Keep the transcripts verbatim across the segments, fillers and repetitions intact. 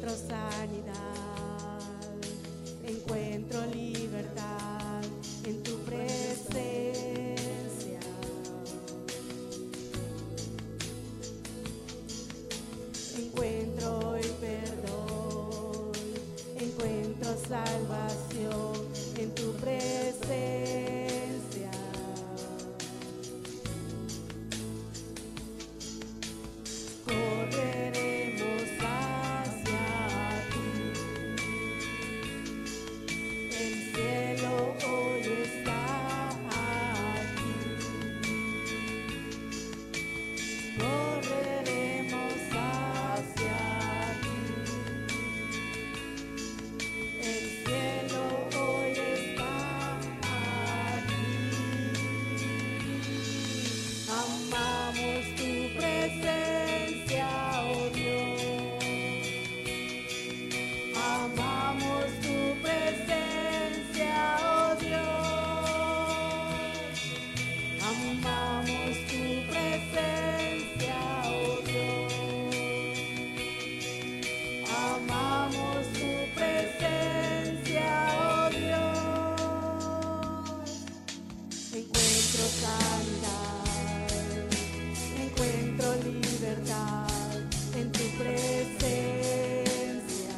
encuentro sanidad, encuentro libertad en tu presencia. Encuentro el perdón, encuentro salvación en tu presencia. Correremos hacia ti. El cielo hoy está aquí. Correremos hacia ti. El cielo hoy está aquí. Amamos tu presencia, oh Dios. Amamos tu presencia, oh Dios. Amamos tu presencia, oh Dios. Amamos tu presencia, oh Dios. Encuentro sanidad, encuentro libertad en tu presencia.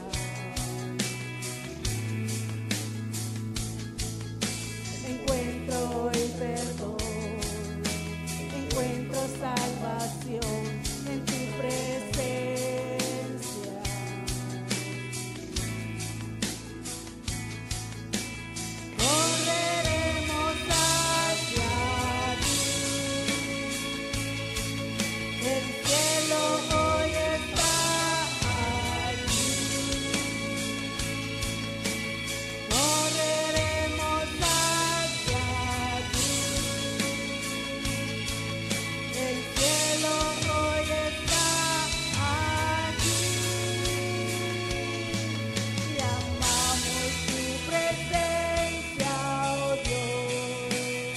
Encuentro el perdón, encuentro salvación en tu presencia. Correremos hacia ti. El cielo hoy está aquí. Correremos hacia ti. El cielo hoy está aquí. Y amamos tu presencia, oh Dios.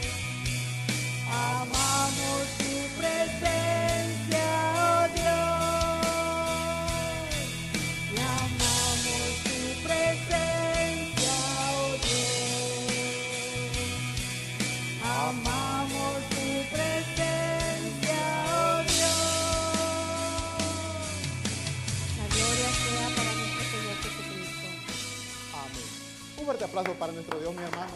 Amamos tu presencia, oh Dios. Y amamos tu presencia, oh Dios. Amamos tu presencia, oh Dios. La gloria sea para nuestro Señor Jesucristo. Amén. Un fuerte aplauso para nuestro Dios, mi hermano.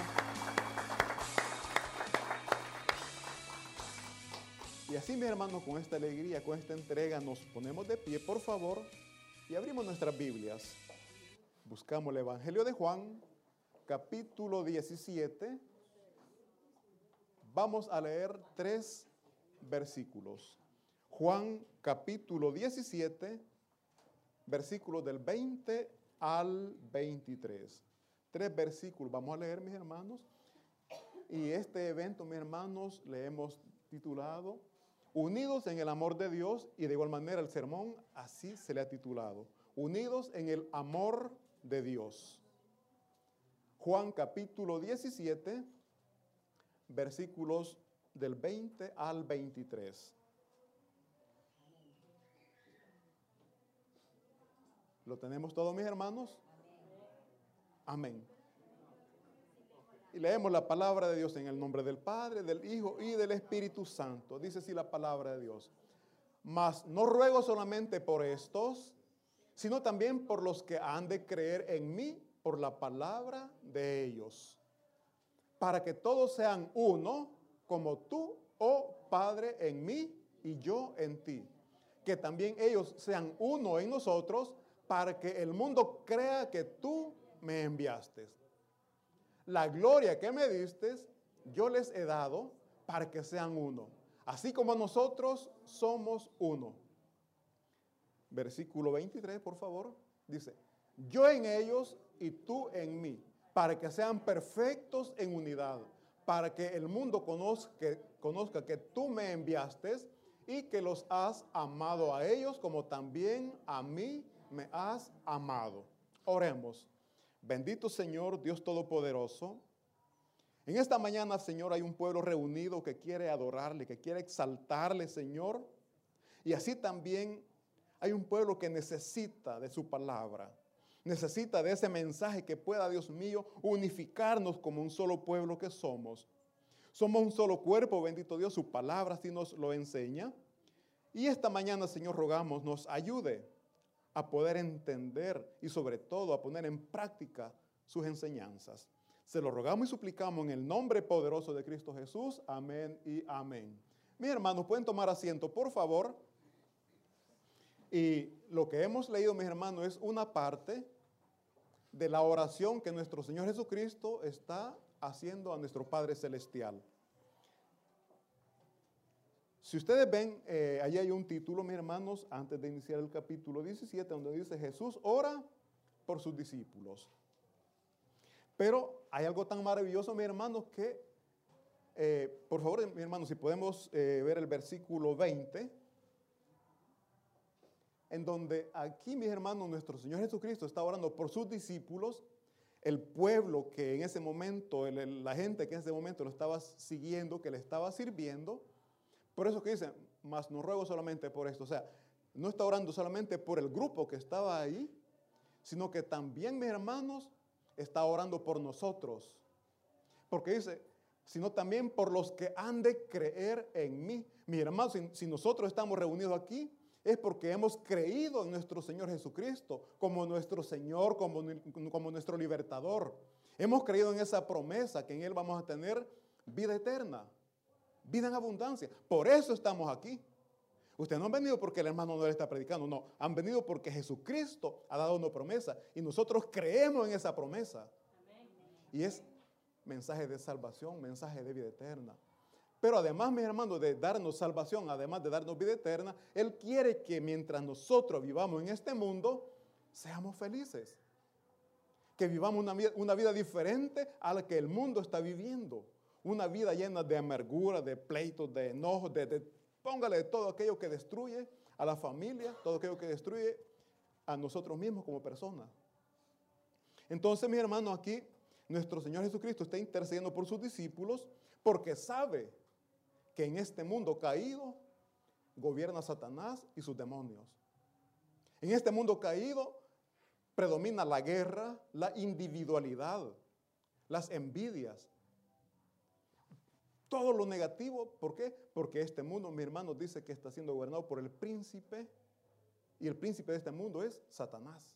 Y así, mi hermano, con esta alegría, con esta entrega, nos ponemos de pie, por favor, y abrimos nuestras Biblias. Buscamos el Evangelio de Juan, capítulo diecisiete. Vamos a leer tres versículos. Juan, capítulo diecisiete, versículos del veinte al veintitrés. Tres versículos vamos a leer, mis hermanos. Y este evento, mis hermanos, le hemos titulado Unidos en el amor de Dios, y de igual manera el sermón así se le ha titulado, Unidos en el amor de Dios. Juan capítulo diecisiete, versículos del veinte al veintitrés. ¿Lo tenemos todos, mis hermanos? Amén. Y leemos la palabra de Dios en el nombre del Padre, del Hijo y del Espíritu Santo. Dice así la palabra de Dios. Mas no ruego solamente por estos, sino también por los que han de creer en mí por la palabra de ellos, para que todos sean uno, como tú, oh Padre, en mí y yo en ti. Que también ellos sean uno en nosotros, para que el mundo crea que tú me enviaste. La gloria que me diste, yo les he dado para que sean uno, así como nosotros somos uno. Versículo veintitrés, por favor, dice, yo en ellos y tú en mí, para que sean perfectos en unidad, para que el mundo conozca, conozca que tú me enviaste y que los has amado a ellos como también a mí me has amado. Oremos. Bendito Señor, Dios Todopoderoso. En esta mañana, Señor, hay un pueblo reunido que quiere adorarle, que quiere exaltarle, Señor. Y así también Hay un pueblo que necesita de su palabra. Necesita de ese mensaje que pueda, Dios mío, unificarnos como un solo pueblo que somos. Somos un solo cuerpo, bendito Dios, su palabra así nos lo enseña. Y esta mañana, Señor, rogamos, nos ayude a poder entender y sobre todo a poner en práctica sus enseñanzas. Se lo rogamos y suplicamos en el nombre poderoso de Cristo Jesús. Amén y amén. Mis hermanos, pueden tomar asiento, por favor. Y lo que hemos leído, mis hermanos, es una parte de la oración que nuestro Señor Jesucristo está haciendo a nuestro Padre Celestial. Si ustedes ven, eh, allí hay un título, mis hermanos, antes de iniciar el capítulo diecisiete, donde dice Jesús ora por sus discípulos. Pero hay algo tan maravilloso, mis hermanos, que, eh, por favor, mis hermanos, si podemos eh, ver el versículo veinte, en donde aquí, mis hermanos, nuestro Señor Jesucristo está orando por sus discípulos, el pueblo que en ese momento, el, el, la gente que en ese momento lo estaba siguiendo, que le estaba sirviendo. Por eso que dice, mas no ruego solamente por esto. O sea, no está orando solamente por el grupo que estaba ahí, sino que también, mis hermanos, está orando por nosotros. Porque dice, sino también por los que han de creer en mí. Mis hermanos, si, si nosotros estamos reunidos aquí, es porque hemos creído en nuestro Señor Jesucristo como nuestro Señor, como, como nuestro libertador. Hemos creído en esa promesa que en Él vamos a tener vida eterna, vida en abundancia. Por eso estamos aquí. Ustedes no han venido porque el hermano no le está predicando, no. Han venido porque Jesucristo ha dado una promesa y nosotros creemos en esa promesa. Amén. Y es mensaje de salvación, mensaje de vida eterna. Pero además, mis hermanos, de darnos salvación, además de darnos vida eterna, Él quiere que mientras nosotros vivamos en este mundo, seamos felices. Que vivamos una vida, una vida diferente a la que el mundo está viviendo. Una vida llena de amargura, de pleitos, de enojos, de, de, póngale todo aquello que destruye a la familia, todo aquello que destruye a nosotros mismos como personas. Entonces, mis hermanos, aquí nuestro Señor Jesucristo está intercediendo por sus discípulos porque sabe que en este mundo caído gobierna Satanás y sus demonios. En este mundo caído predomina la guerra, la individualidad, las envidias. Todo lo negativo, ¿por qué? Porque este mundo, mi hermano, dice que está siendo gobernado por el príncipe, y el príncipe de este mundo es Satanás.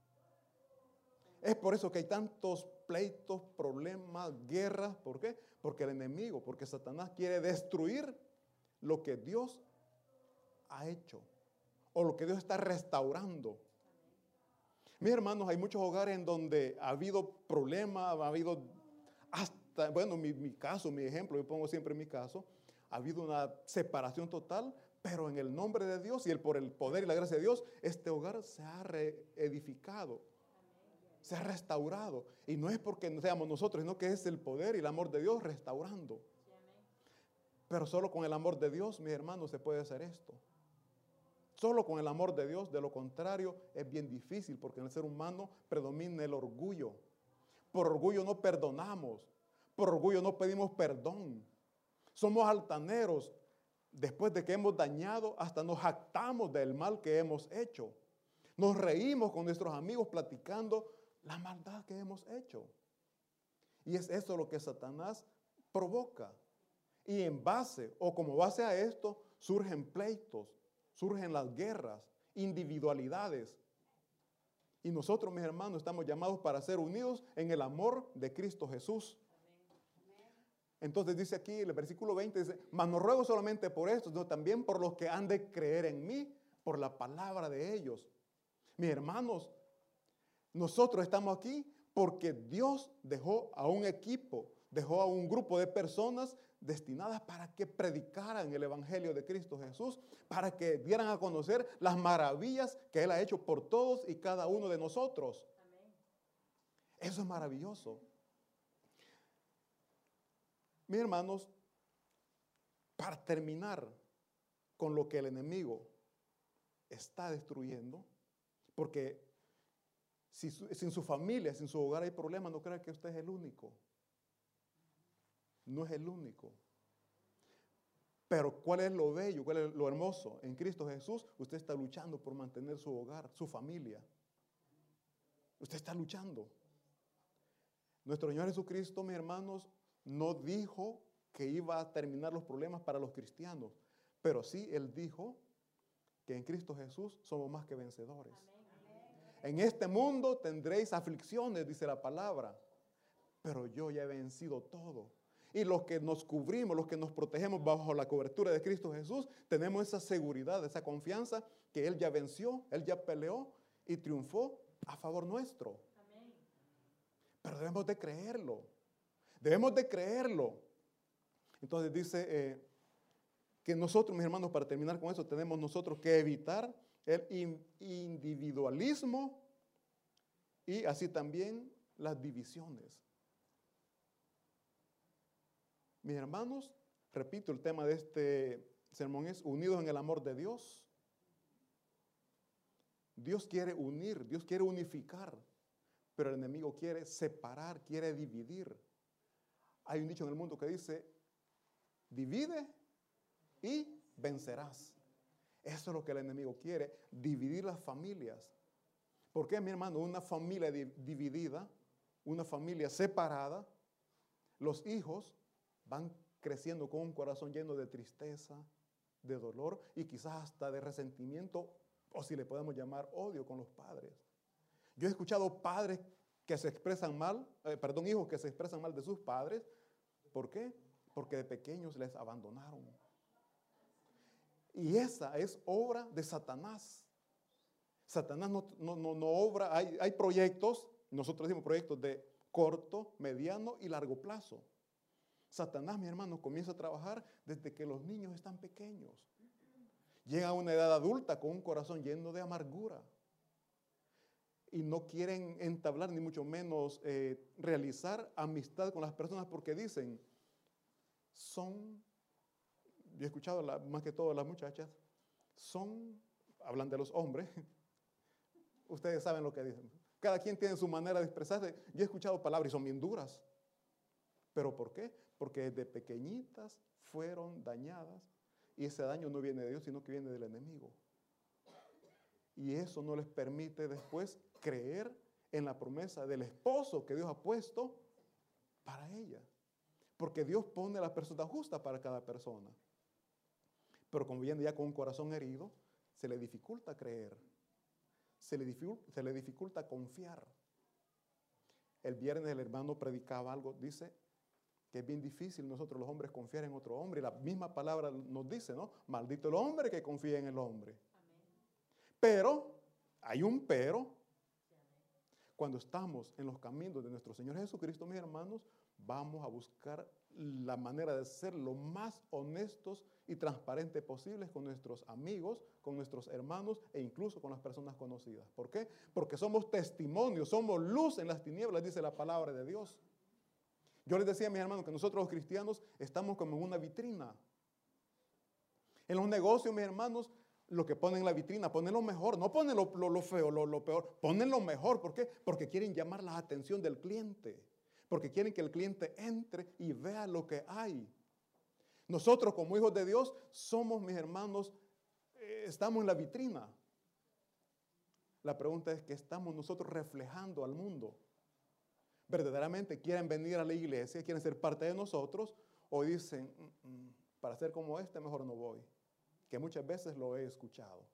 Es por eso que hay tantos pleitos, problemas, guerras. ¿Por qué? Porque el enemigo, porque Satanás quiere destruir lo que Dios ha hecho, o lo que Dios está restaurando. Mis hermanos, hay muchos hogares en donde ha habido problemas, ha habido hasta, bueno, mi, mi caso, mi ejemplo, yo pongo siempre mi caso, ha habido una separación total, pero en el nombre de Dios y el, por el poder y la gracia de Dios, este hogar se ha reedificado, se ha restaurado. Y no es porque no seamos nosotros, sino que es el poder y el amor de Dios restaurando. Pero solo con el amor de Dios, mis hermanos, se puede hacer esto. Solo con el amor de Dios, de lo contrario, es bien difícil, porque en el ser humano predomina el orgullo. Por orgullo no perdonamos, por orgullo no pedimos perdón. Somos altaneros. Después de que hemos dañado, hasta nos jactamos del mal que hemos hecho. Nos reímos con nuestros amigos platicando la maldad que hemos hecho. Y es eso lo que Satanás provoca. Y en base, o como base a esto, surgen pleitos, surgen las guerras, individualidades. Y nosotros, mis hermanos, estamos llamados para ser unidos en el amor de Cristo Jesús. Entonces dice aquí, el versículo veinte, dice, mas no ruego solamente por esto, sino también por los que han de creer en mí, por la palabra de ellos. Mis hermanos, nosotros estamos aquí porque Dios dejó a un equipo, dejó a un grupo de personas destinadas para que predicaran el evangelio de Cristo Jesús, para que dieran a conocer las maravillas que Él ha hecho por todos y cada uno de nosotros. Amén. Eso es maravilloso. Mis hermanos, para terminar con lo que el enemigo está destruyendo, porque si su, sin su familia, sin su hogar hay problemas, no crea que usted es el único. No es el único. Pero ¿cuál es lo bello? ¿Cuál es lo hermoso? En Cristo Jesús usted está luchando por mantener su hogar, su familia. Usted está luchando. Nuestro Señor Jesucristo, mis hermanos, no dijo que iba a terminar los problemas para los cristianos, pero sí Él dijo que en Cristo Jesús somos más que vencedores. En este mundo tendréis aflicciones, dice la palabra, pero yo ya he vencido todo. Y los que nos cubrimos, los que nos protegemos bajo la cobertura de Cristo Jesús, tenemos esa seguridad, esa confianza que Él ya venció, Él ya peleó y triunfó a favor nuestro. Amén. Pero debemos de creerlo. Debemos de creerlo. Entonces dice eh, que nosotros, mis hermanos, para terminar con eso, tenemos nosotros que evitar el in- individualismo y así también las divisiones. Mis hermanos, repito, el tema de este sermón es unidos en el amor de Dios. Dios quiere unir, Dios quiere unificar, pero el enemigo quiere separar, quiere dividir. Hay un dicho en el mundo que dice, divide y vencerás. Eso es lo que el enemigo quiere, dividir las familias. ¿Por qué, mi hermano? Una familia di- dividida, una familia separada, los hijos van creciendo con un corazón lleno de tristeza, de dolor y quizás hasta de resentimiento, o si le podemos llamar odio con los padres. Yo he escuchado padres que se expresan mal, eh, perdón, hijos que se expresan mal de sus padres. ¿Por qué? Porque de pequeños les abandonaron. Y esa es obra de Satanás. Satanás no, no, no, no obra, hay, hay proyectos, nosotros decimos proyectos de corto, mediano y largo plazo. Satanás, mi hermano, comienza a trabajar desde que los niños están pequeños. Llega a una edad adulta con un corazón lleno de amargura. Y no quieren entablar, ni mucho menos eh, realizar amistad con las personas porque dicen, son, yo he escuchado la, más que todo las muchachas, son, hablan de los hombres, ustedes saben lo que dicen. Cada quien tiene su manera de expresarse. Yo he escuchado palabras y son bien duras. ¿Pero por qué? Porque desde pequeñitas fueron dañadas y ese daño no viene de Dios, sino que viene del enemigo. Y eso no les permite después creer en la promesa del esposo que Dios ha puesto para ella. Porque Dios pone a la persona justa para cada persona. Pero como viene ya con un corazón herido, se le dificulta creer. Se le dificulta, se le dificulta confiar. El viernes el hermano predicaba algo, dice que es bien difícil nosotros los hombres confiar en otro hombre. Y la misma palabra nos dice, ¿no? Maldito el hombre que confía en el hombre. Amén. Pero, hay un pero, cuando estamos en los caminos de nuestro Señor Jesucristo, mis hermanos, vamos a buscar la manera de ser lo más honestos y transparentes posibles con nuestros amigos, con nuestros hermanos e incluso con las personas conocidas. ¿Por qué? Porque somos testimonios, somos luz en las tinieblas, dice la palabra de Dios. Yo les decía a mis hermanos que nosotros los cristianos estamos como en una vitrina. En los negocios, mis hermanos, lo que ponen en la vitrina, ponen lo mejor, no ponen lo, lo, lo feo, lo, lo peor, ponen lo mejor. ¿Por qué? Porque quieren llamar la atención del cliente, porque quieren que el cliente entre y vea lo que hay. Nosotros como hijos de Dios somos, mis hermanos, eh, estamos en la vitrina. La pregunta es, ¿qué estamos nosotros reflejando al mundo? ¿Verdaderamente quieren venir a la iglesia, quieren ser parte de nosotros? ¿O dicen, mm, mm, para ser como este mejor no voy? Que muchas veces lo he escuchado.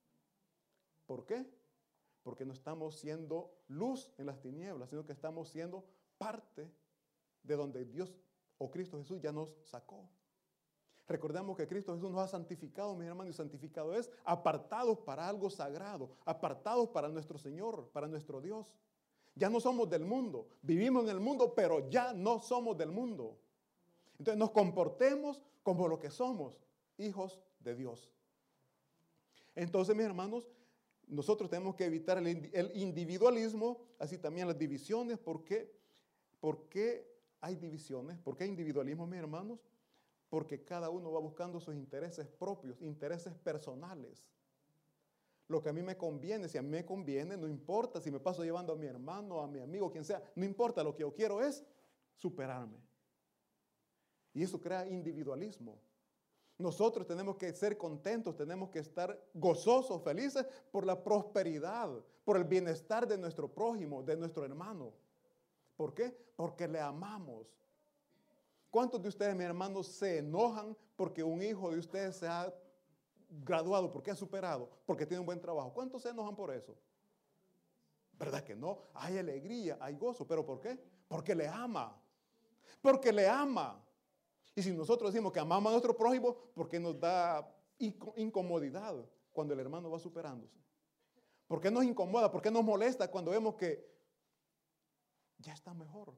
¿Por qué? Porque no estamos siendo luz en las tinieblas, sino que estamos siendo parte de donde Dios o Cristo Jesús ya nos sacó. Recordemos que Cristo Jesús nos ha santificado, mis hermanos, y santificado es apartados para algo sagrado, apartados para nuestro Señor, para nuestro Dios. Ya no somos del mundo, vivimos en el mundo, pero ya no somos del mundo. Entonces nos comportemos como lo que somos, hijos de Dios. Entonces, mis hermanos, nosotros tenemos que evitar el, el individualismo, así también las divisiones. ¿Por qué? ¿Por qué hay divisiones? ¿Por qué hay individualismo, mis hermanos? Porque cada uno va buscando sus intereses propios, intereses personales. Lo que a mí me conviene, si a mí me conviene, no importa si me paso llevando a mi hermano, a mi amigo, quien sea, no importa, lo que yo quiero es superarme. Y eso crea individualismo. Nosotros tenemos que ser contentos, tenemos que estar gozosos, felices por la prosperidad, por el bienestar de nuestro prójimo, de nuestro hermano. ¿Por qué? Porque le amamos. ¿Cuántos de ustedes, mis hermanos, se enojan porque un hijo de ustedes se ha graduado, porque ha superado, porque tiene un buen trabajo? ¿Cuántos se enojan por eso? ¿Verdad que no? Hay alegría, hay gozo. ¿Pero por qué? Porque le ama. Porque le ama. Y si nosotros decimos que amamos a nuestro prójimo, ¿por qué nos da incomodidad cuando el hermano va superándose? ¿Por qué nos incomoda? ¿Por qué nos molesta cuando vemos que ya está mejor?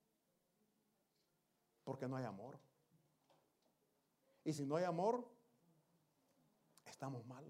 Porque no hay amor. Y si no hay amor, estamos mal.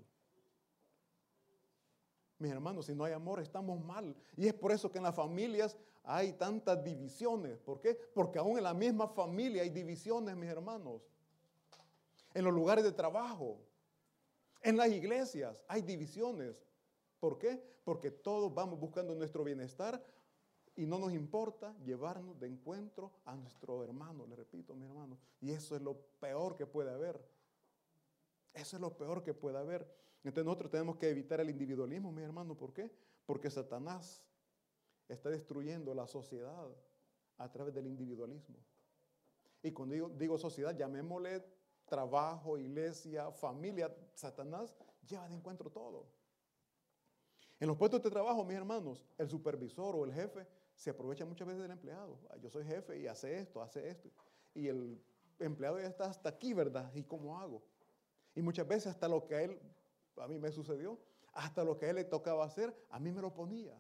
Mis hermanos, si no hay amor, estamos mal. Y es por eso que en las familias hay tantas divisiones. ¿Por qué? Porque aún en la misma familia hay divisiones, mis hermanos. En los lugares de trabajo, en las iglesias hay divisiones. ¿Por qué? Porque todos vamos buscando nuestro bienestar y no nos importa llevarnos de encuentro a nuestro hermano. Le repito, mis hermanos. Y eso es lo peor que puede haber. Eso es lo peor que puede haber. Entonces nosotros tenemos que evitar el individualismo, mis hermanos. ¿Por qué? Porque Satanás está destruyendo la sociedad a través del individualismo. Y cuando digo, digo sociedad, llamémosle trabajo, iglesia, familia. Satanás lleva de encuentro todo. En los puestos de trabajo, mis hermanos, el supervisor o el jefe se aprovecha muchas veces del empleado. Yo soy jefe y hace esto, hace esto. Y el empleado ya está hasta aquí, ¿verdad? ¿Y cómo hago? Y muchas veces hasta lo que a él, a mí me sucedió, hasta lo que a él le tocaba hacer, a mí me lo ponía.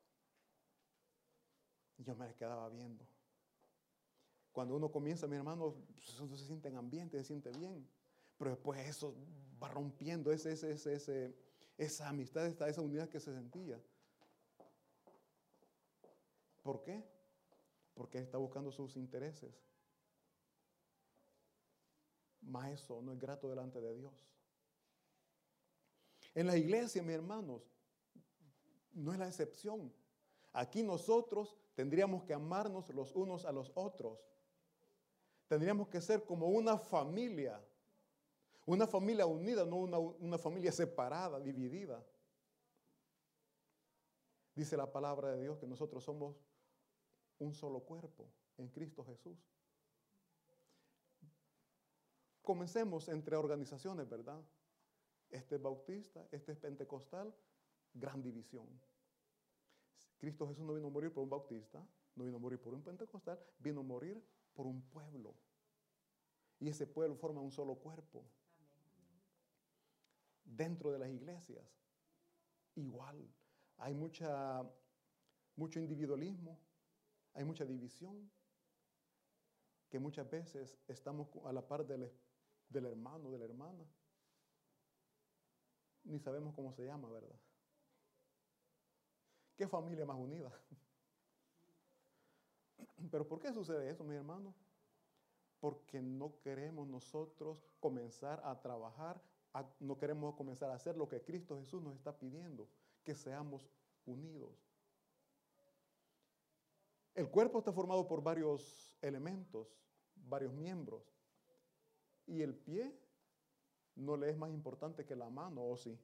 Y yo me quedaba viendo. Cuando uno comienza, mi hermano, pues uno se siente en ambiente, se siente bien. Pero después eso va rompiendo ese, ese, ese, ese, esa amistad, esa, esa unidad que se sentía. ¿Por qué? Porque está buscando sus intereses. Mas eso no es grato delante de Dios. En la iglesia, mis hermanos, no es la excepción. Aquí nosotros tendríamos que amarnos los unos a los otros. Tendríamos que ser como una familia. Una familia unida, no una, una familia separada, dividida. Dice la palabra de Dios que nosotros somos un solo cuerpo en Cristo Jesús. Comencemos entre organizaciones, ¿verdad? Este es bautista, este es pentecostal, gran división. Cristo Jesús no vino a morir por un bautista, no vino a morir por un pentecostal, vino a morir por un pueblo. Y ese pueblo forma un solo cuerpo. Dentro de las iglesias, igual, hay mucha, mucho individualismo, hay mucha división, que muchas veces estamos a la par del, del hermano, de la hermana. Ni sabemos cómo se llama, ¿verdad? ¿Qué familia más unida? ¿Pero por qué sucede eso, mis hermanos? Porque no queremos nosotros comenzar a trabajar, a, no queremos comenzar a hacer lo que Cristo Jesús nos está pidiendo, que seamos unidos. El cuerpo está formado por varios elementos, varios miembros. Y el pie no le es más importante que la mano, ¿o sí?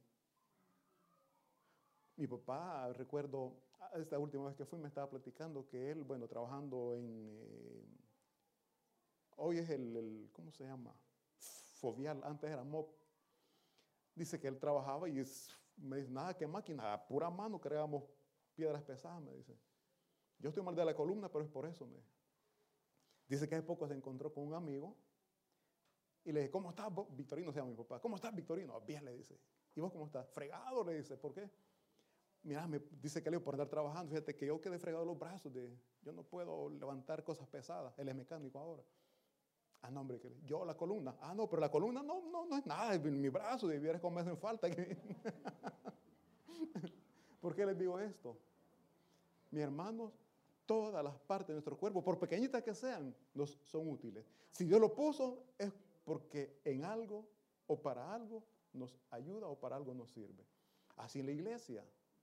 Mi papá, recuerdo, esta última vez que fui, me estaba platicando que él, bueno, trabajando en, eh, hoy es el, el, ¿cómo se llama? Fovial, antes era M O P. Dice que él trabajaba y es, me dice, nada, que máquina, a pura mano creamos piedras pesadas, me dice. Yo estoy mal de la columna, pero es por eso, me dice que hace poco se encontró con un amigo y le dije, ¿cómo estás? Victorino se llama mi papá. ¿Cómo estás, Victorino? Bien, le dice. ¿Y vos cómo estás? Fregado, le dice. ¿Por qué? Mira, me dice que le digo, por andar trabajando, fíjate que yo quedé fregado los brazos, de, yo no puedo levantar cosas pesadas. Él es mecánico ahora. Ah, no, hombre, que yo la columna. Ah, no, pero la columna no, no, no es nada, mi brazo, debieras como me hacen falta. ¿Por qué les digo esto? Mis hermanos, todas las partes de nuestro cuerpo, por pequeñitas que sean, nos son útiles. Si Dios lo puso, es porque en algo o para algo nos ayuda o para algo nos sirve. Así en la iglesia.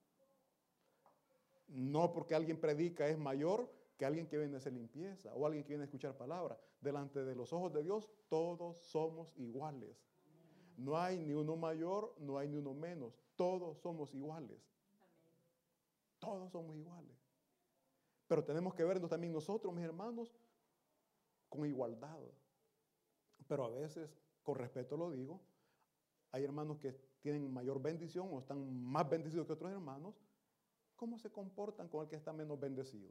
No porque alguien predica es mayor que alguien que viene a hacer limpieza o alguien que viene a escuchar palabra. Delante de los ojos de Dios, todos somos iguales. No hay ni uno mayor, no hay ni uno menos. Todos somos iguales. Todos somos iguales. Pero tenemos que vernos también nosotros, mis hermanos, con igualdad. Pero a veces, con respeto lo digo, hay hermanos que tienen mayor bendición o están más bendecidos que otros hermanos. ¿Cómo se comportan con el que está menos bendecido?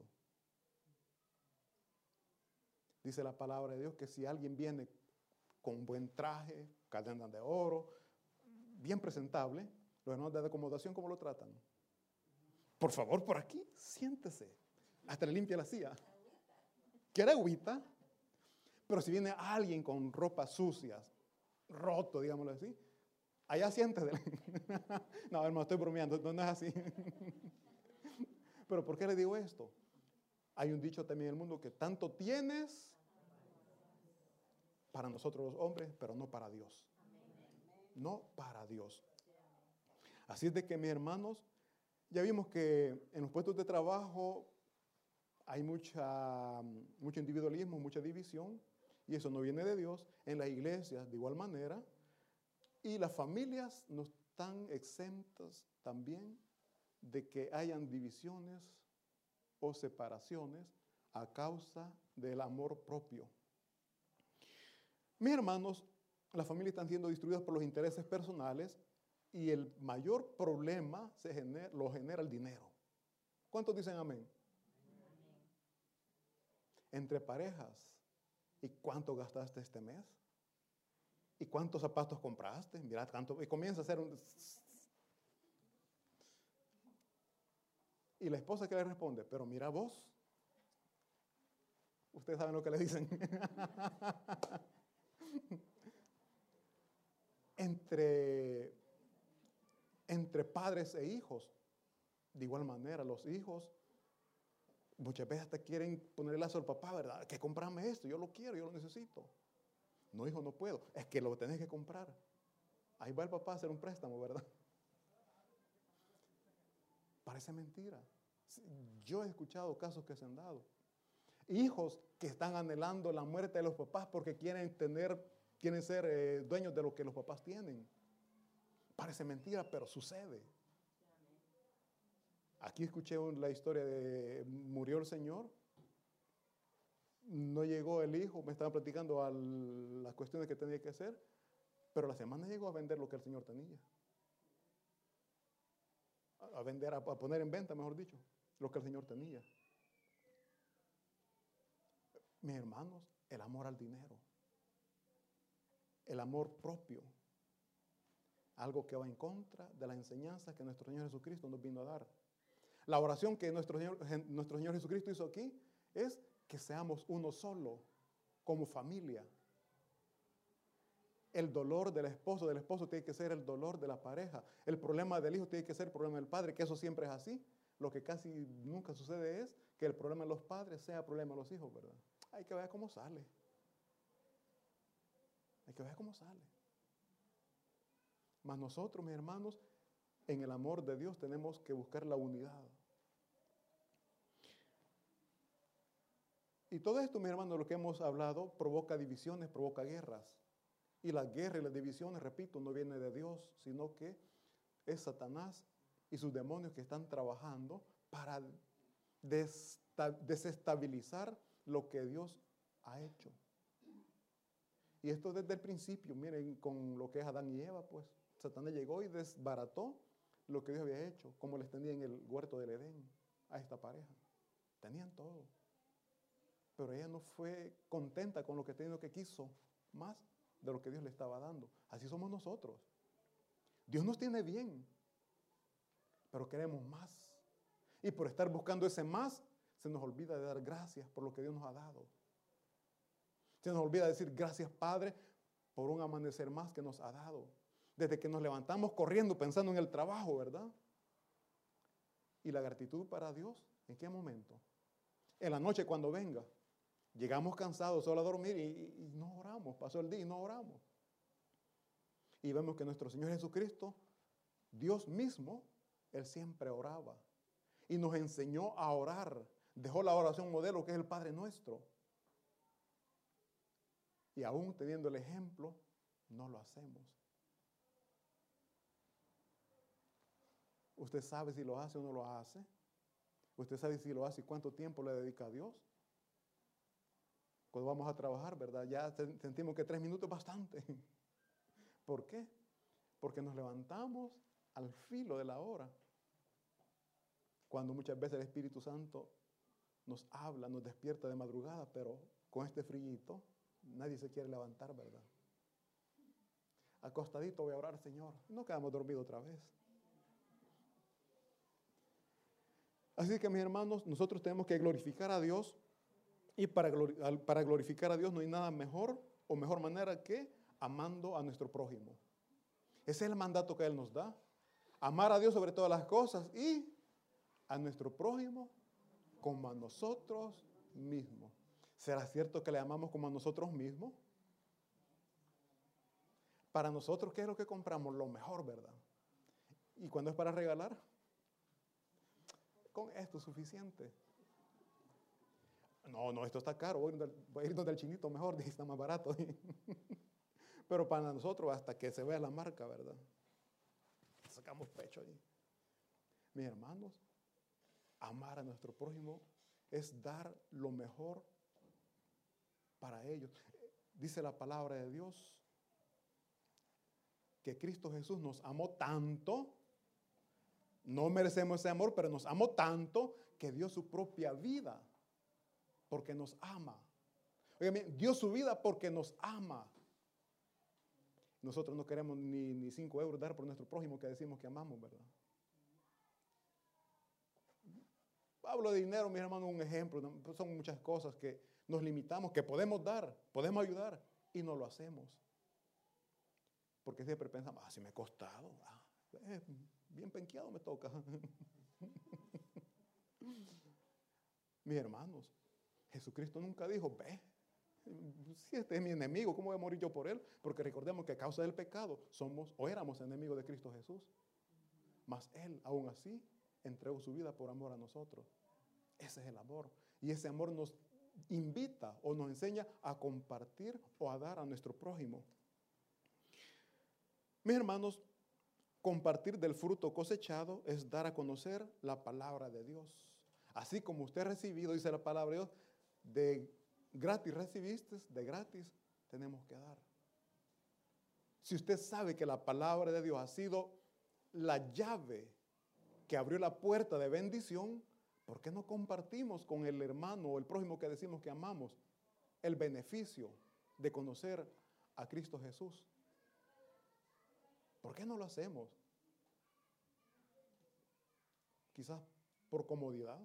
Dice la palabra de Dios que si alguien viene con buen traje, cadena de oro, bien presentable, los hermanos de acomodación, ¿cómo lo tratan? Por favor, por aquí, siéntese. Hasta le limpia la silla. ¿Quiere agüita? Pero si viene alguien con ropas sucias, roto, digámoslo así, allá siéntese. No, hermano, estoy bromeando, no, no es así. Pero ¿por qué le digo esto? Hay un dicho también en el mundo que tanto tienes para nosotros los hombres, pero no para Dios. No para Dios. Así es de que, mis hermanos, ya vimos que en los puestos de trabajo hay mucha, mucho individualismo, mucha división, y eso no viene de Dios. En las iglesias, de igual manera, y las familias no están exentas también de que hayan divisiones o separaciones a causa del amor propio. Mis hermanos, las familias están siendo destruidas por los intereses personales y el mayor problema se genera, lo genera el dinero. ¿Cuántos dicen amén? Amén. Entre parejas, ¿y cuánto gastaste este mes? ¿Y cuántos zapatos compraste? Mira, cuánto, y comienza a hacer un... Y la esposa que le responde, pero mira vos. Ustedes saben lo que le dicen. entre, entre padres e hijos, de igual manera, los hijos muchas veces te quieren ponerle lazo al papá, ¿verdad? Que comprame esto, yo lo quiero, yo lo necesito. No, hijo, no puedo. Es que lo tenés que comprar. Ahí va el papá a hacer un préstamo, ¿verdad? Parece mentira. Yo he escuchado casos que se han dado. Hijos que están anhelando la muerte de los papás porque quieren tener, quieren ser eh, dueños de lo que los papás tienen. Parece mentira, pero sucede. Aquí escuché la historia de murió el señor. No llegó el hijo, me estaban platicando a las cuestiones que tenía que hacer, pero la semana llegó a vender lo que el señor tenía. A vender, a poner en venta, mejor dicho, lo que el Señor tenía. Mis hermanos, el amor al dinero, el amor propio, algo que va en contra de la enseñanza que nuestro Señor Jesucristo nos vino a dar. La oración que nuestro Señor, nuestro Señor Jesucristo hizo aquí es que seamos uno solo, como familia. El dolor del esposo, del esposo tiene que ser el dolor de la pareja. El problema del hijo tiene que ser el problema del padre, que eso siempre es así. Lo que casi nunca sucede es que el problema de los padres sea el problema de los hijos, ¿verdad? Hay que ver cómo sale. Hay que ver cómo sale. Mas nosotros, mis hermanos, en el amor de Dios tenemos que buscar la unidad. Y todo esto, mis hermanos, lo que hemos hablado, provoca divisiones, provoca guerras. Y las guerras y las divisiones, repito, no vienen de Dios, sino que es Satanás y sus demonios que están trabajando para desestabilizar lo que Dios ha hecho. Y esto desde el principio, miren, con lo que es Adán y Eva, pues, Satanás llegó y desbarató lo que Dios había hecho, como les tenía en el huerto del Edén a esta pareja. Tenían todo. Pero ella no fue contenta con lo que tenía, lo que quiso más de lo que Dios le estaba dando. Así somos nosotros. Dios nos tiene bien, pero queremos más. Y por estar buscando ese más, se nos olvida de dar gracias por lo que Dios nos ha dado. Se nos olvida decir gracias, Padre, por un amanecer más que nos ha dado. Desde que nos levantamos corriendo pensando en el trabajo, ¿verdad? Y la gratitud para Dios, ¿en qué momento? En la noche cuando venga. Llegamos cansados solo a dormir y, y, y no oramos. Pasó el día y no oramos. Y vemos que nuestro Señor Jesucristo, Dios mismo, Él siempre oraba. Y nos enseñó a orar. Dejó la oración modelo que es el Padre Nuestro. Y aún teniendo el ejemplo, no lo hacemos. Usted sabe si lo hace o no lo hace. Usted sabe si lo hace y cuánto tiempo le dedica a Dios. Cuando vamos a trabajar, ¿verdad? Ya sentimos que tres minutos es bastante. ¿Por qué? Porque nos levantamos al filo de la hora. Cuando muchas veces el Espíritu Santo nos habla, nos despierta de madrugada, pero con este frillito nadie se quiere levantar, ¿verdad? Acostadito voy a orar, Señor. No quedamos dormidos otra vez. Así que, mis hermanos, nosotros tenemos que glorificar a Dios. Y para, para glorificar a Dios no hay nada mejor o mejor manera que amando a nuestro prójimo. Ese es el mandato que Él nos da. Amar a Dios sobre todas las cosas y a nuestro prójimo como a nosotros mismos. ¿Será cierto que le amamos como a nosotros mismos? Para nosotros, ¿qué es lo que compramos? Lo mejor, ¿verdad? Y cuando es para regalar, con esto es suficiente. No, no, esto está caro, voy a ir, voy a ir donde el chinito mejor, dice, está más barato. Pero para nosotros, hasta que se vea la marca, ¿verdad? Sacamos pecho ahí. Mis hermanos, amar a nuestro prójimo es dar lo mejor para ellos. Dice la palabra de Dios que Cristo Jesús nos amó tanto, no merecemos ese amor, pero nos amó tanto que dio su propia vida porque nos ama. Oigan, dio su vida porque nos ama. Nosotros no queremos ni, ni cinco euros dar por nuestro prójimo que decimos que amamos, ¿verdad? Hablo de dinero, mis hermanos, un ejemplo. Son muchas cosas que nos limitamos, que podemos dar, podemos ayudar y no lo hacemos. Porque siempre pensamos, ah, si me ha costado, ah, eh, bien penqueado me toca. Mis hermanos, Jesucristo nunca dijo, ve, si este es mi enemigo, ¿cómo voy a morir yo por él? Porque recordemos que a causa del pecado somos o éramos enemigos de Cristo Jesús. Mas Él, aún así, entregó su vida por amor a nosotros. Ese es el amor. Y ese amor nos invita o nos enseña a compartir o a dar a nuestro prójimo. Mis hermanos, compartir del fruto cosechado es dar a conocer la palabra de Dios. Así como usted ha recibido, dice la palabra de Dios, de gratis recibiste, de gratis tenemos que dar. Si usted sabe que la palabra de Dios ha sido la llave que abrió la puerta de bendición, ¿por qué no compartimos con el hermano o el prójimo que decimos que amamos el beneficio de conocer a Cristo Jesús? ¿Por qué no lo hacemos? Quizás por comodidad,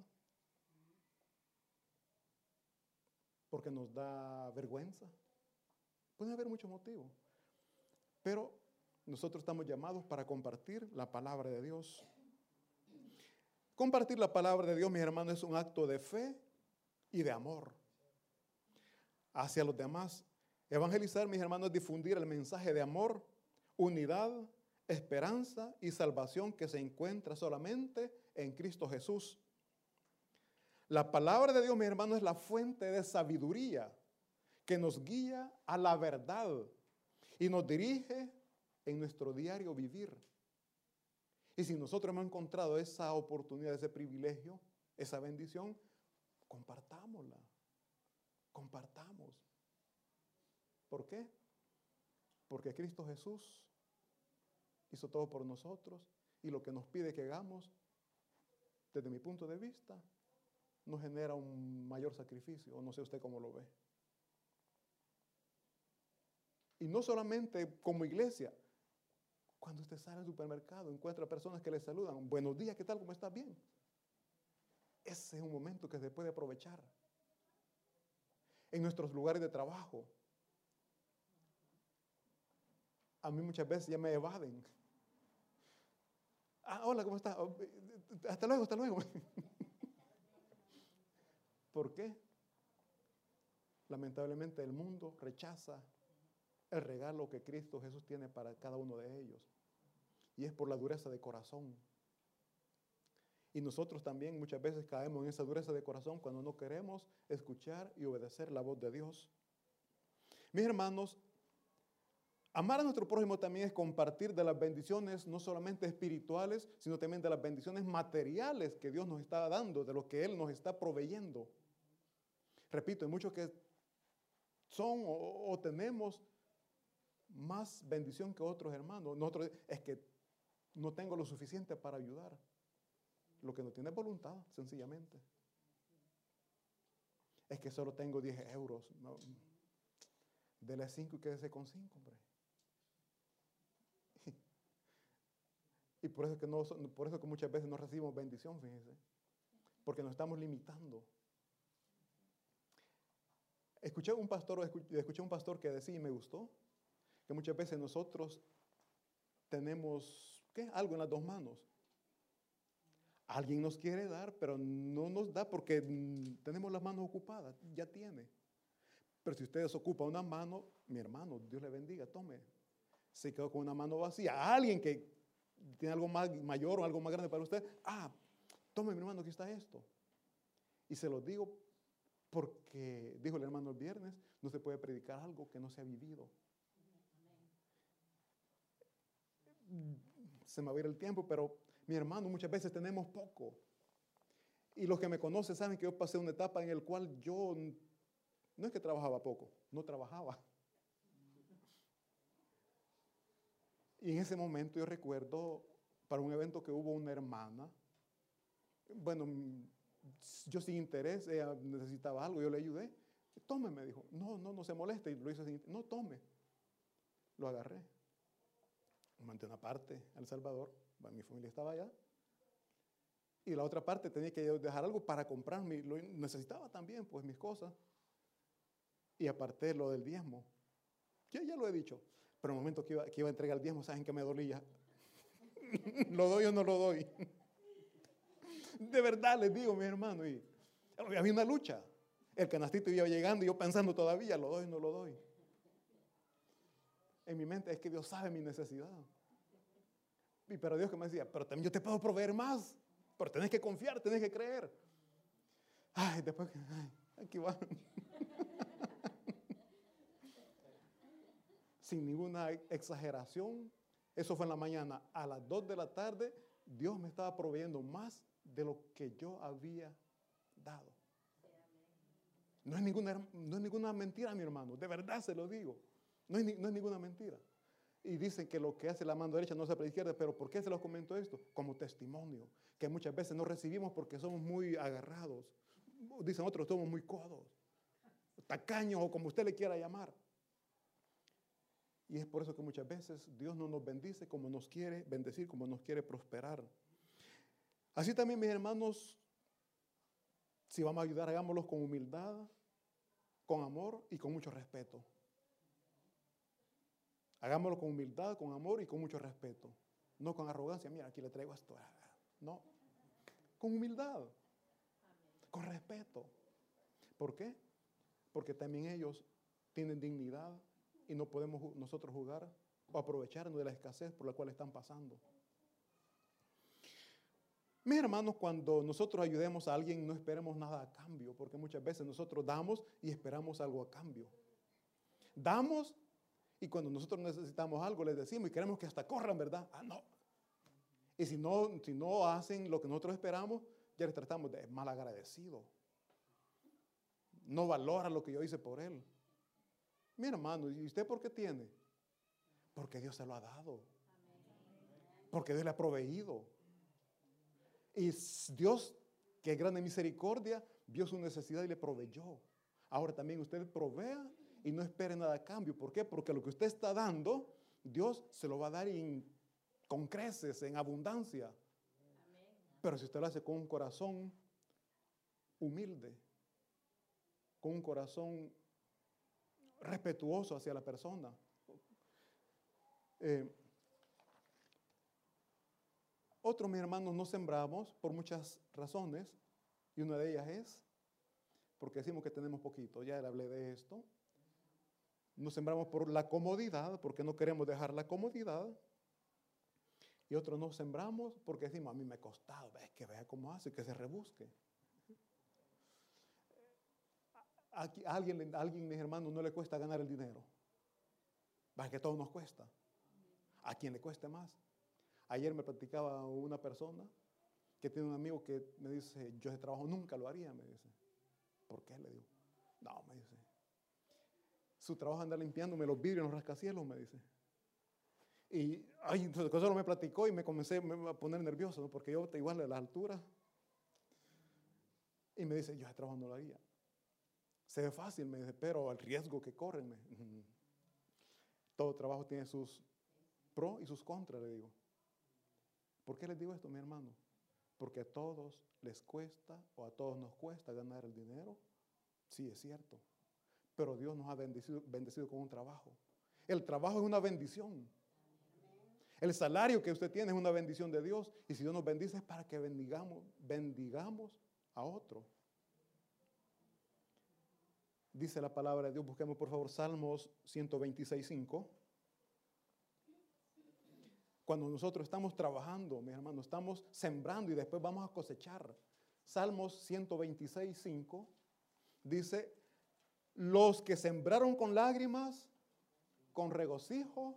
porque nos da vergüenza. Puede haber muchos motivos, pero nosotros estamos llamados para compartir la palabra de Dios. Compartir la palabra de Dios, mis hermanos, es un acto de fe y de amor hacia los demás. Evangelizar, mis hermanos, es difundir el mensaje de amor, unidad, esperanza y salvación que se encuentra solamente en Cristo Jesús. La palabra de Dios, mis hermanos, es la fuente de sabiduría que nos guía a la verdad y nos dirige en nuestro diario vivir. Y si nosotros hemos encontrado esa oportunidad, ese privilegio, esa bendición, compartámosla, compartamos. ¿Por qué? Porque Cristo Jesús hizo todo por nosotros y lo que nos pide que hagamos, desde mi punto de vista, nos genera un mayor sacrificio, o no sé usted cómo lo ve. Y no solamente como iglesia, cuando usted sale al supermercado, encuentra personas que le saludan, buenos días, ¿qué tal? ¿Cómo estás? Bien. Ese es un momento que se puede aprovechar. En nuestros lugares de trabajo, a mí muchas veces ya me evaden. Ah, hola, ¿cómo estás? Hasta luego, hasta luego. ¿Por qué? Lamentablemente el mundo rechaza el regalo que Cristo Jesús tiene para cada uno de ellos. Y es por la dureza de corazón. Y nosotros también muchas veces caemos en esa dureza de corazón cuando no queremos escuchar y obedecer la voz de Dios. Mis hermanos, amar a nuestro prójimo también es compartir de las bendiciones, no solamente espirituales, sino también de las bendiciones materiales que Dios nos está dando, de lo que Él nos está proveyendo. Repito, hay muchos que son o, o tenemos más bendición que otros hermanos. Nosotros es que no tengo lo suficiente para ayudar. Lo que no tiene es voluntad, sencillamente. Es que solo tengo diez euros. No, dele cinco y quédese con cinco, hombre. Y por eso, que no, por eso que muchas veces no recibimos bendición, fíjense. Porque nos estamos limitando. Escuché un pastor, escuché un pastor que decía, y me gustó, que muchas veces nosotros tenemos, ¿qué? Algo en las dos manos. Alguien nos quiere dar, pero no nos da porque tenemos las manos ocupadas, ya tiene. Pero si usted desocupa una mano, mi hermano, Dios le bendiga, tome. Se quedó con una mano vacía. Alguien que tiene algo más mayor o algo más grande para usted, ah, tome mi hermano, aquí está esto. Y se lo digo porque, dijo el hermano el viernes, no se puede predicar algo que no se ha vivido. Se me va a ir el tiempo, pero mi hermano, muchas veces tenemos poco. Y los que me conocen saben que yo pasé una etapa en la cual yo, no es que trabajaba poco, no trabajaba. Y en ese momento yo recuerdo, para un evento que hubo una hermana, bueno, yo sin interés, ella necesitaba algo, yo le ayudé. Tome, me dijo. No, no, no se moleste. Y lo hizo sin, no, tome. Lo agarré. Mandé una parte a El Salvador, mi familia estaba allá. Y la otra parte tenía que dejar algo para comprarme, lo necesitaba también, pues mis cosas. Y aparté lo del diezmo. Ya, ya lo he dicho. Pero en el momento que iba, que iba a entregar el diezmo, ¿saben que me dolía? ¿Lo doy o no lo doy? De verdad les digo, mis hermanos. Y había una lucha. El canastito iba llegando y yo pensando todavía, ¿lo doy o no lo doy? En mi mente es que Dios sabe mi necesidad. Y pero Dios que me decía, pero también yo te puedo proveer más. Pero tenés que confiar, tenés que creer. Ay, después, ay, aquí va. Sin ninguna exageración, eso fue en la mañana. A las dos de la tarde, Dios me estaba proveyendo más de lo que yo había dado. No es ninguna, no es ninguna mentira, mi hermano. De verdad se lo digo. No es, no es ninguna mentira. Y dicen que lo que hace la mano derecha no hace la izquierda. Pero ¿por qué se los comento esto? Como testimonio. Que muchas veces no recibimos porque somos muy agarrados. Dicen otros, somos muy codos. Tacaños o como usted le quiera llamar. Y es por eso que muchas veces Dios no nos bendice como nos quiere bendecir, como nos quiere prosperar. Así también, mis hermanos, si vamos a ayudar, hagámoslo con humildad, con amor y con mucho respeto. Hagámoslo con humildad, con amor y con mucho respeto. No con arrogancia, mira, aquí le traigo esto. No, con humildad, con respeto. ¿Por qué? Porque también ellos tienen dignidad y no podemos nosotros jugar o aprovecharnos de la escasez por la cual están pasando. Mis hermanos, cuando nosotros ayudemos a alguien, no esperemos nada a cambio, porque muchas veces nosotros damos y esperamos algo a cambio. Damos y cuando nosotros necesitamos algo, les decimos y queremos que hasta corran, ¿verdad? Ah, no. Y si no, si no hacen lo que nosotros esperamos, ya les tratamos de mal agradecido. No valora lo que yo hice por él. Mi hermano, ¿y usted por qué tiene? Porque Dios se lo ha dado. Porque Dios le ha proveído. Y Dios, que es grande misericordia, vio su necesidad y le proveyó. Ahora también usted provea y no espere nada a cambio. ¿Por qué? Porque lo que usted está dando, Dios se lo va a dar en, con creces, en abundancia. Amén. Pero si usted lo hace con un corazón humilde, con un corazón respetuoso hacia la persona. Eh, otros, mis hermanos, no sembramos por muchas razones, y una de ellas es porque decimos que tenemos poquito. Ya le hablé de esto. No sembramos por la comodidad, porque no queremos dejar la comodidad. Y otros no sembramos porque decimos, a mí me ha costado, ve, que vea cómo hace, que se rebusque. Aquí, a alguien, a alguien, mis hermanos, no le cuesta ganar el dinero. Va, que todo nos cuesta. ¿A quién le cueste más? Ayer me platicaba una persona que tiene un amigo que me dice, yo ese trabajo nunca lo haría, me dice. ¿Por qué? Le digo. No, me dice. Su trabajo es andar limpiándome los vidrios en los rascacielos, me dice. Y ay, entonces eso me platicó y me comencé a poner nervioso, ¿no? Porque yo igual de las alturas. Y me dice, yo ese trabajo no lo haría. Se ve fácil, me dice, pero el riesgo que corren. Me, todo trabajo tiene sus pros y sus contras, le digo. ¿Por qué les digo esto, mi hermano? Porque a todos les cuesta o a todos nos cuesta ganar el dinero. Sí, es cierto. Pero Dios nos ha bendecido, bendecido con un trabajo. El trabajo es una bendición. El salario que usted tiene es una bendición de Dios. Y si Dios nos bendice es para que bendigamos, bendigamos a otro. Dice la palabra de Dios, busquemos por favor Salmos ciento veintiséis, cinco. Cuando nosotros estamos trabajando, mis hermanos, estamos sembrando y después vamos a cosechar. Salmos ciento veintiséis, cinco dice, los que sembraron con lágrimas, con regocijo.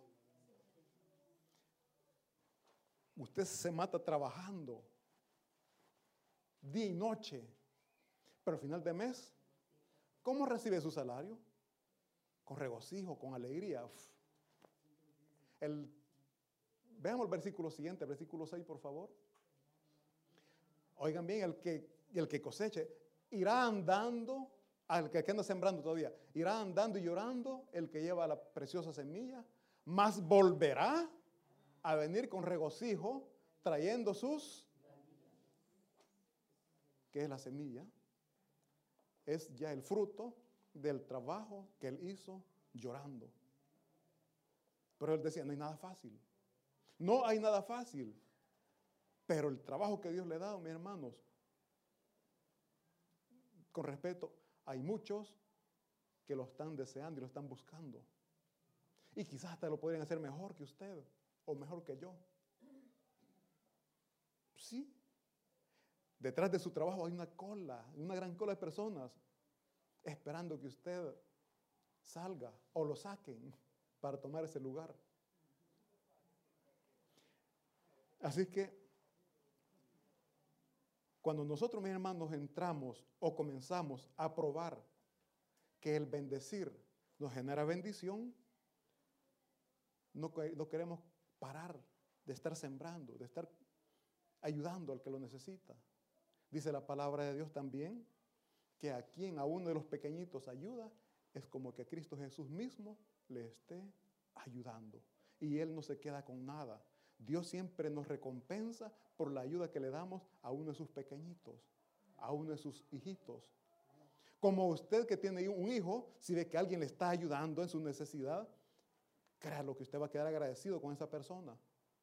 Usted se mata trabajando día y noche, pero al final de mes, ¿cómo recibe su salario? Con regocijo, con alegría. Uf. El, veamos el versículo siguiente, el versículo seis, por favor. Oigan bien, el que, el que coseche irá andando, al que anda sembrando todavía, irá andando y llorando el que lleva la preciosa semilla, mas volverá a venir con regocijo, trayendo sus, ¿qué es la semilla? Es ya el fruto del trabajo que él hizo llorando. Pero él decía, no hay nada fácil. No hay nada fácil. Pero el trabajo que Dios le ha dado, mis hermanos, con respeto, hay muchos que lo están deseando y lo están buscando. Y quizás hasta lo podrían hacer mejor que usted o mejor que yo. Sí. Detrás de su trabajo hay una cola, una gran cola de personas esperando que usted salga o lo saquen para tomar ese lugar. Así que cuando nosotros, mis hermanos, entramos o comenzamos a probar que el bendecir nos genera bendición, no, no queremos parar de estar sembrando, de estar ayudando al que lo necesita. Dice la palabra de Dios también que a quien a uno de los pequeñitos ayuda es como que Cristo Jesús mismo le esté ayudando. Y Él no se queda con nada. Dios siempre nos recompensa por la ayuda que le damos a uno de sus pequeñitos, a uno de sus hijitos. Como usted que tiene un hijo, si ve que alguien le está ayudando en su necesidad, créalo que usted va a quedar agradecido con esa persona.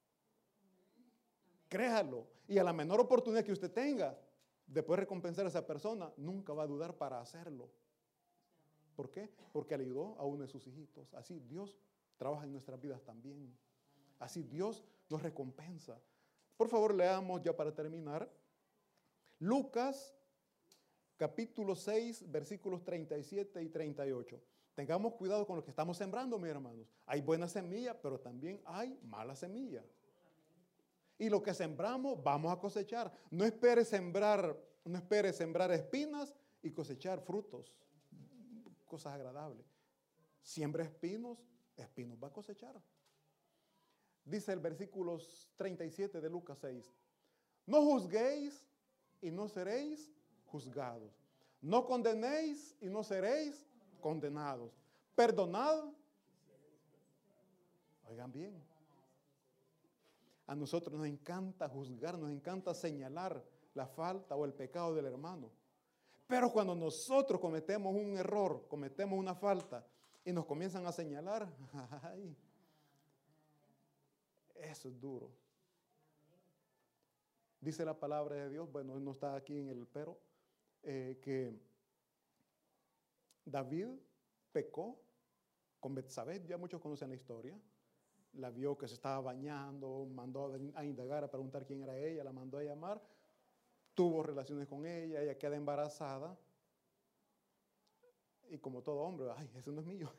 Créalo. Y a la menor oportunidad que usted tenga de poder recompensar a esa persona, nunca va a dudar para hacerlo. ¿Por qué? Porque le ayudó a uno de sus hijitos. Así Dios trabaja en nuestras vidas también. Así Dios nos recompensa. Por favor, leamos ya para terminar. Lucas, capítulo seis, versículos treinta y siete y treinta y ocho. Tengamos cuidado con lo que estamos sembrando, mis hermanos. Hay buena semilla, pero también hay mala semilla. Y lo que sembramos, vamos a cosechar. No espere sembrar, no espere sembrar espinas y cosechar frutos, cosas agradables. Siembra espinos, espinos va a cosechar. Dice el versículo treinta y siete de Lucas seis. No juzguéis y no seréis juzgados. No condenéis y no seréis condenados. Perdonad. Oigan bien. A nosotros nos encanta juzgar, nos encanta señalar la falta o el pecado del hermano. Pero cuando nosotros cometemos un error, cometemos una falta y nos comienzan a señalar, ay, eso es duro. Dice la palabra de Dios, bueno, no está aquí en el pero, eh, que David pecó con Betsabé, ya muchos conocen la historia. La vio que se estaba bañando, mandó a indagar, a preguntar quién era ella, la mandó a llamar, tuvo relaciones con ella, ella queda embarazada. Y como todo hombre, ay, eso no es mío.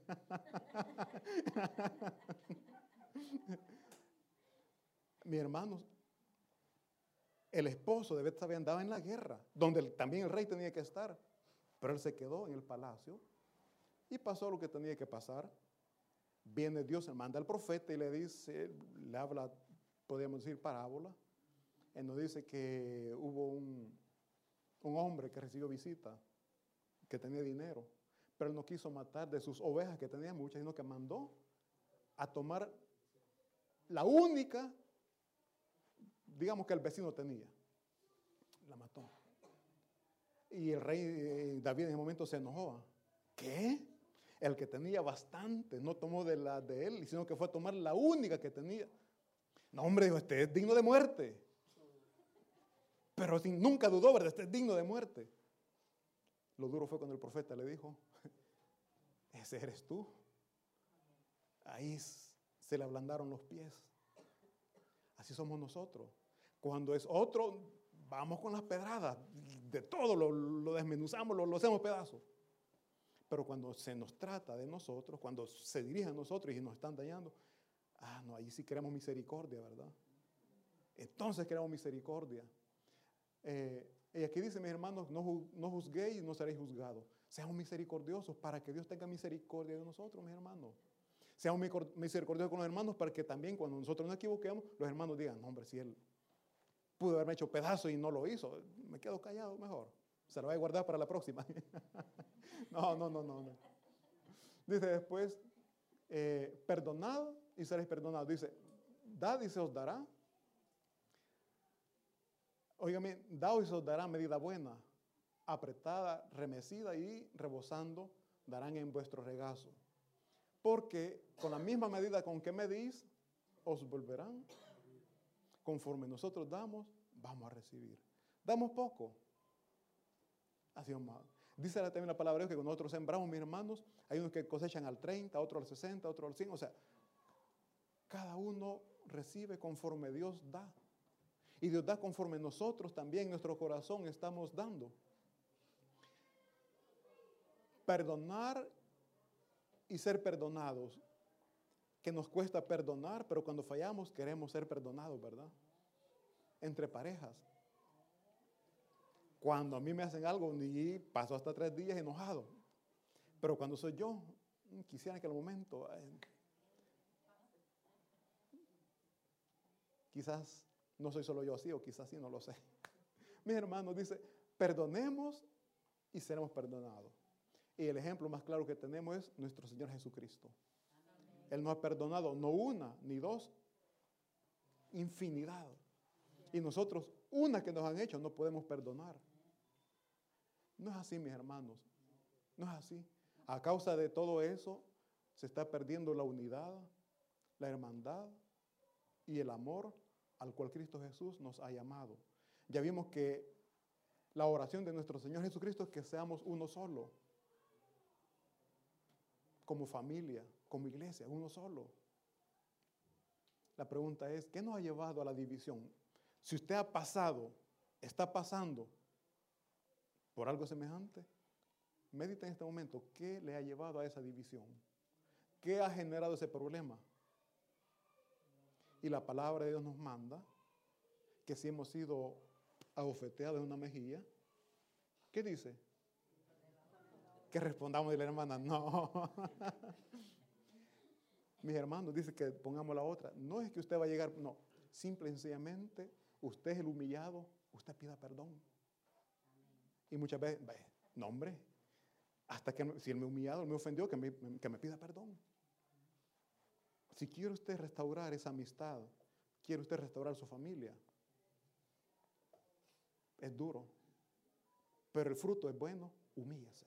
Mis hermanos, el esposo de Betsabé andaba en la guerra, donde también el rey tenía que estar, pero él se quedó en el palacio y pasó lo que tenía que pasar. Viene Dios, manda al profeta y le dice, le habla, podríamos decir, parábola. Él nos dice que hubo un, un hombre que recibió visita, que tenía dinero, pero él no quiso matar de sus ovejas, que tenía muchas, sino que mandó a tomar la única, digamos que el vecino tenía. La mató. Y el rey eh, David en ese momento se enojó. ¿Qué? El que tenía bastante no tomó de la de él, sino que fue a tomar la única que tenía. No, hombre, dijo, este es digno de muerte. Pero sin, nunca dudó, ¿verdad? Este es digno de muerte. Lo duro fue cuando el profeta le dijo, ese eres tú. Ahí se le ablandaron los pies. Así somos nosotros. Cuando es otro, vamos con las pedradas. De todo lo, lo desmenuzamos, lo, lo hacemos pedazos. Pero cuando se nos trata de nosotros, cuando se dirige a nosotros y nos están dañando, ah, no, ahí sí queremos misericordia, ¿verdad? Entonces queremos misericordia. Eh, y aquí dice, mis hermanos, no, no juzguéis y no seréis juzgados. Seamos misericordiosos para que Dios tenga misericordia de nosotros, mis hermanos. Seamos misericordiosos con los hermanos para que también cuando nosotros nos equivoquemos, los hermanos digan, no, hombre, si él pudo haberme hecho pedazo y no lo hizo, me quedo callado mejor. Se lo voy a guardar para la próxima. No, no, no, no, no. Dice después, eh, perdonad y seréis perdonados. Dice, dad y se os dará. Óigame, dad y se os dará medida buena, apretada, remecida y rebosando, darán en vuestro regazo. Porque con la misma medida con que medís, os volverán. Conforme nosotros damos, vamos a recibir. Damos poco. Así más. Dice también la palabra de Dios que cuando nosotros sembramos, mis hermanos, hay unos que cosechan al treinta, otros al sesenta, otros al cien. O sea, cada uno recibe conforme Dios da. Y Dios da conforme nosotros también, nuestro corazón, estamos dando. Perdonar y ser perdonados. Que nos cuesta perdonar, pero cuando fallamos queremos ser perdonados, ¿verdad? Entre parejas. Cuando a mí me hacen algo y paso hasta tres días enojado. Pero cuando soy yo, quisiera que al momento, eh, quizás no soy solo yo así, o quizás sí, no lo sé. Mis hermanos, dice, perdonemos y seremos perdonados. Y el ejemplo más claro que tenemos es nuestro Señor Jesucristo. Él nos ha perdonado no una ni dos, infinidad. Y nosotros, una que nos han hecho, no podemos perdonar. No es así, mis hermanos. No es así. A causa de todo eso, se está perdiendo la unidad, la hermandad y el amor al cual Cristo Jesús nos ha llamado. Ya vimos que la oración de nuestro Señor Jesucristo es que seamos uno solo. Como familia, como iglesia, uno solo. La pregunta es, ¿qué nos ha llevado a la división? Si usted ha pasado, está pasando por algo semejante, medita en este momento, ¿qué le ha llevado a esa división? ¿Qué ha generado ese problema? Y la palabra de Dios nos manda que si hemos sido abofeteados en una mejilla, ¿qué dice? Que respondamos de la hermana, no. Mis hermanos, dice que pongamos la otra. No es que usted va a llegar, no. Simple y sencillamente, usted es el humillado, usted pida perdón. Y muchas veces, no hombre, hasta que si él me humillado, me ofendió, que me, que me pida perdón. Si quiere usted restaurar esa amistad, quiere usted restaurar su familia, es duro, pero el fruto es bueno, humíllese.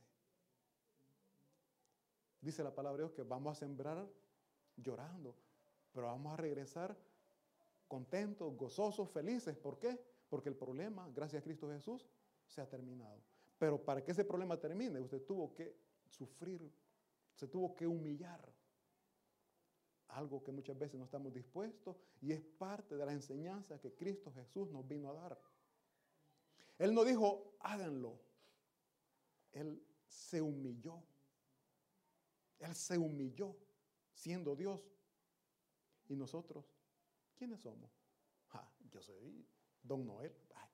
Dice la palabra de Dios que vamos a sembrar llorando, pero vamos a regresar contentos, gozosos, felices. ¿Por qué? Porque el problema, gracias a Cristo Jesús, se ha terminado. Pero para que ese problema termine, usted tuvo que sufrir, se tuvo que humillar. Algo que muchas veces no estamos dispuestos y es parte de la enseñanza que Cristo Jesús nos vino a dar. Él no dijo, háganlo. Él se humilló. Él se humilló siendo Dios. ¿Y nosotros? ¿Quiénes somos? Ah, yo soy Don Noel. Ay,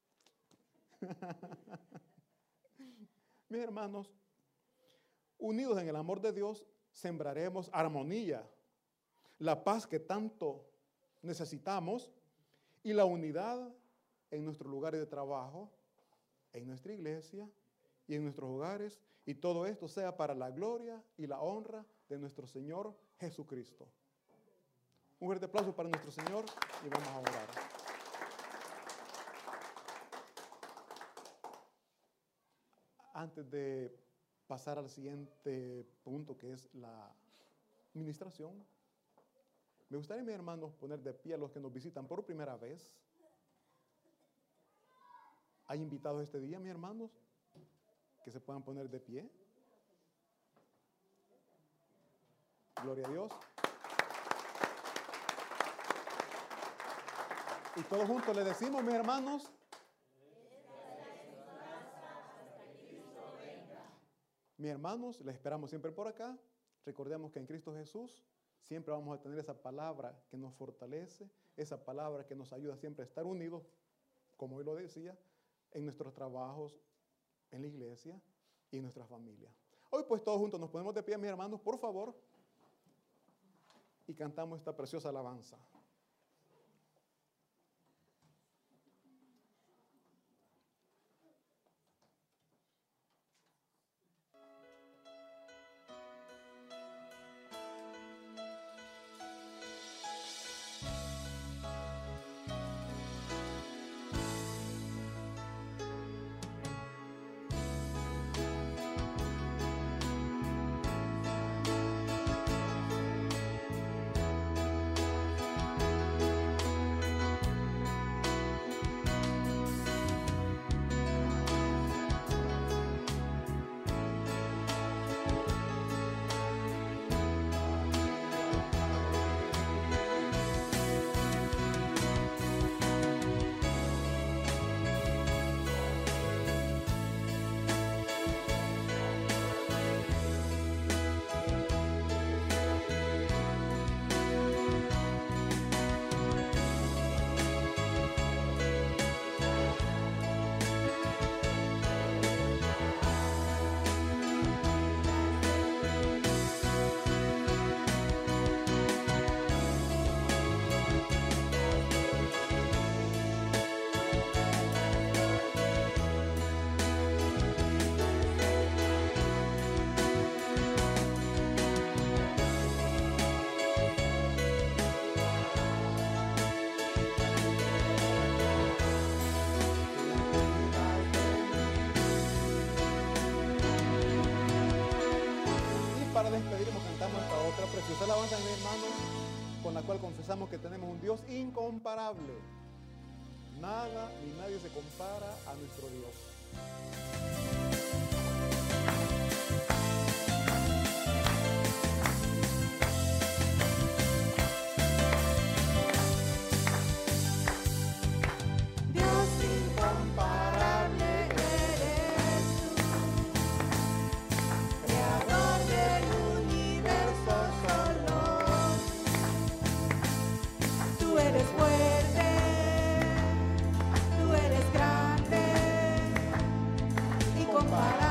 mis hermanos, unidos en el amor de Dios, sembraremos armonía, la paz que tanto necesitamos y la unidad en nuestros lugares de trabajo, en nuestra iglesia y en nuestros hogares, y todo esto sea para la gloria y la honra de nuestro Señor Jesucristo. Un fuerte aplauso para nuestro Señor y vamos a orar. Antes de pasar al siguiente punto, que es la administración, me gustaría, mis hermanos, poner de pie a los que nos visitan por primera vez. ¿Hay invitados este día, mis hermanos, que se puedan poner de pie? Gloria a Dios. Y todos juntos le decimos, mis hermanos, mis hermanos, les esperamos siempre por acá. Recordemos que en Cristo Jesús siempre vamos a tener esa palabra que nos fortalece, esa palabra que nos ayuda siempre a estar unidos, como hoy lo decía, en nuestros trabajos, en la iglesia y en nuestra familia. Hoy pues todos juntos nos ponemos de pie, mis hermanos, por favor, y cantamos esta preciosa alabanza. Despediremos, cantamos esta otra preciosa alabanza, mis hermanos, con la cual confesamos que tenemos un Dios incomparable. Nada ni nadie se compara a nuestro Dios. Fuerte, tú eres grande y comparable.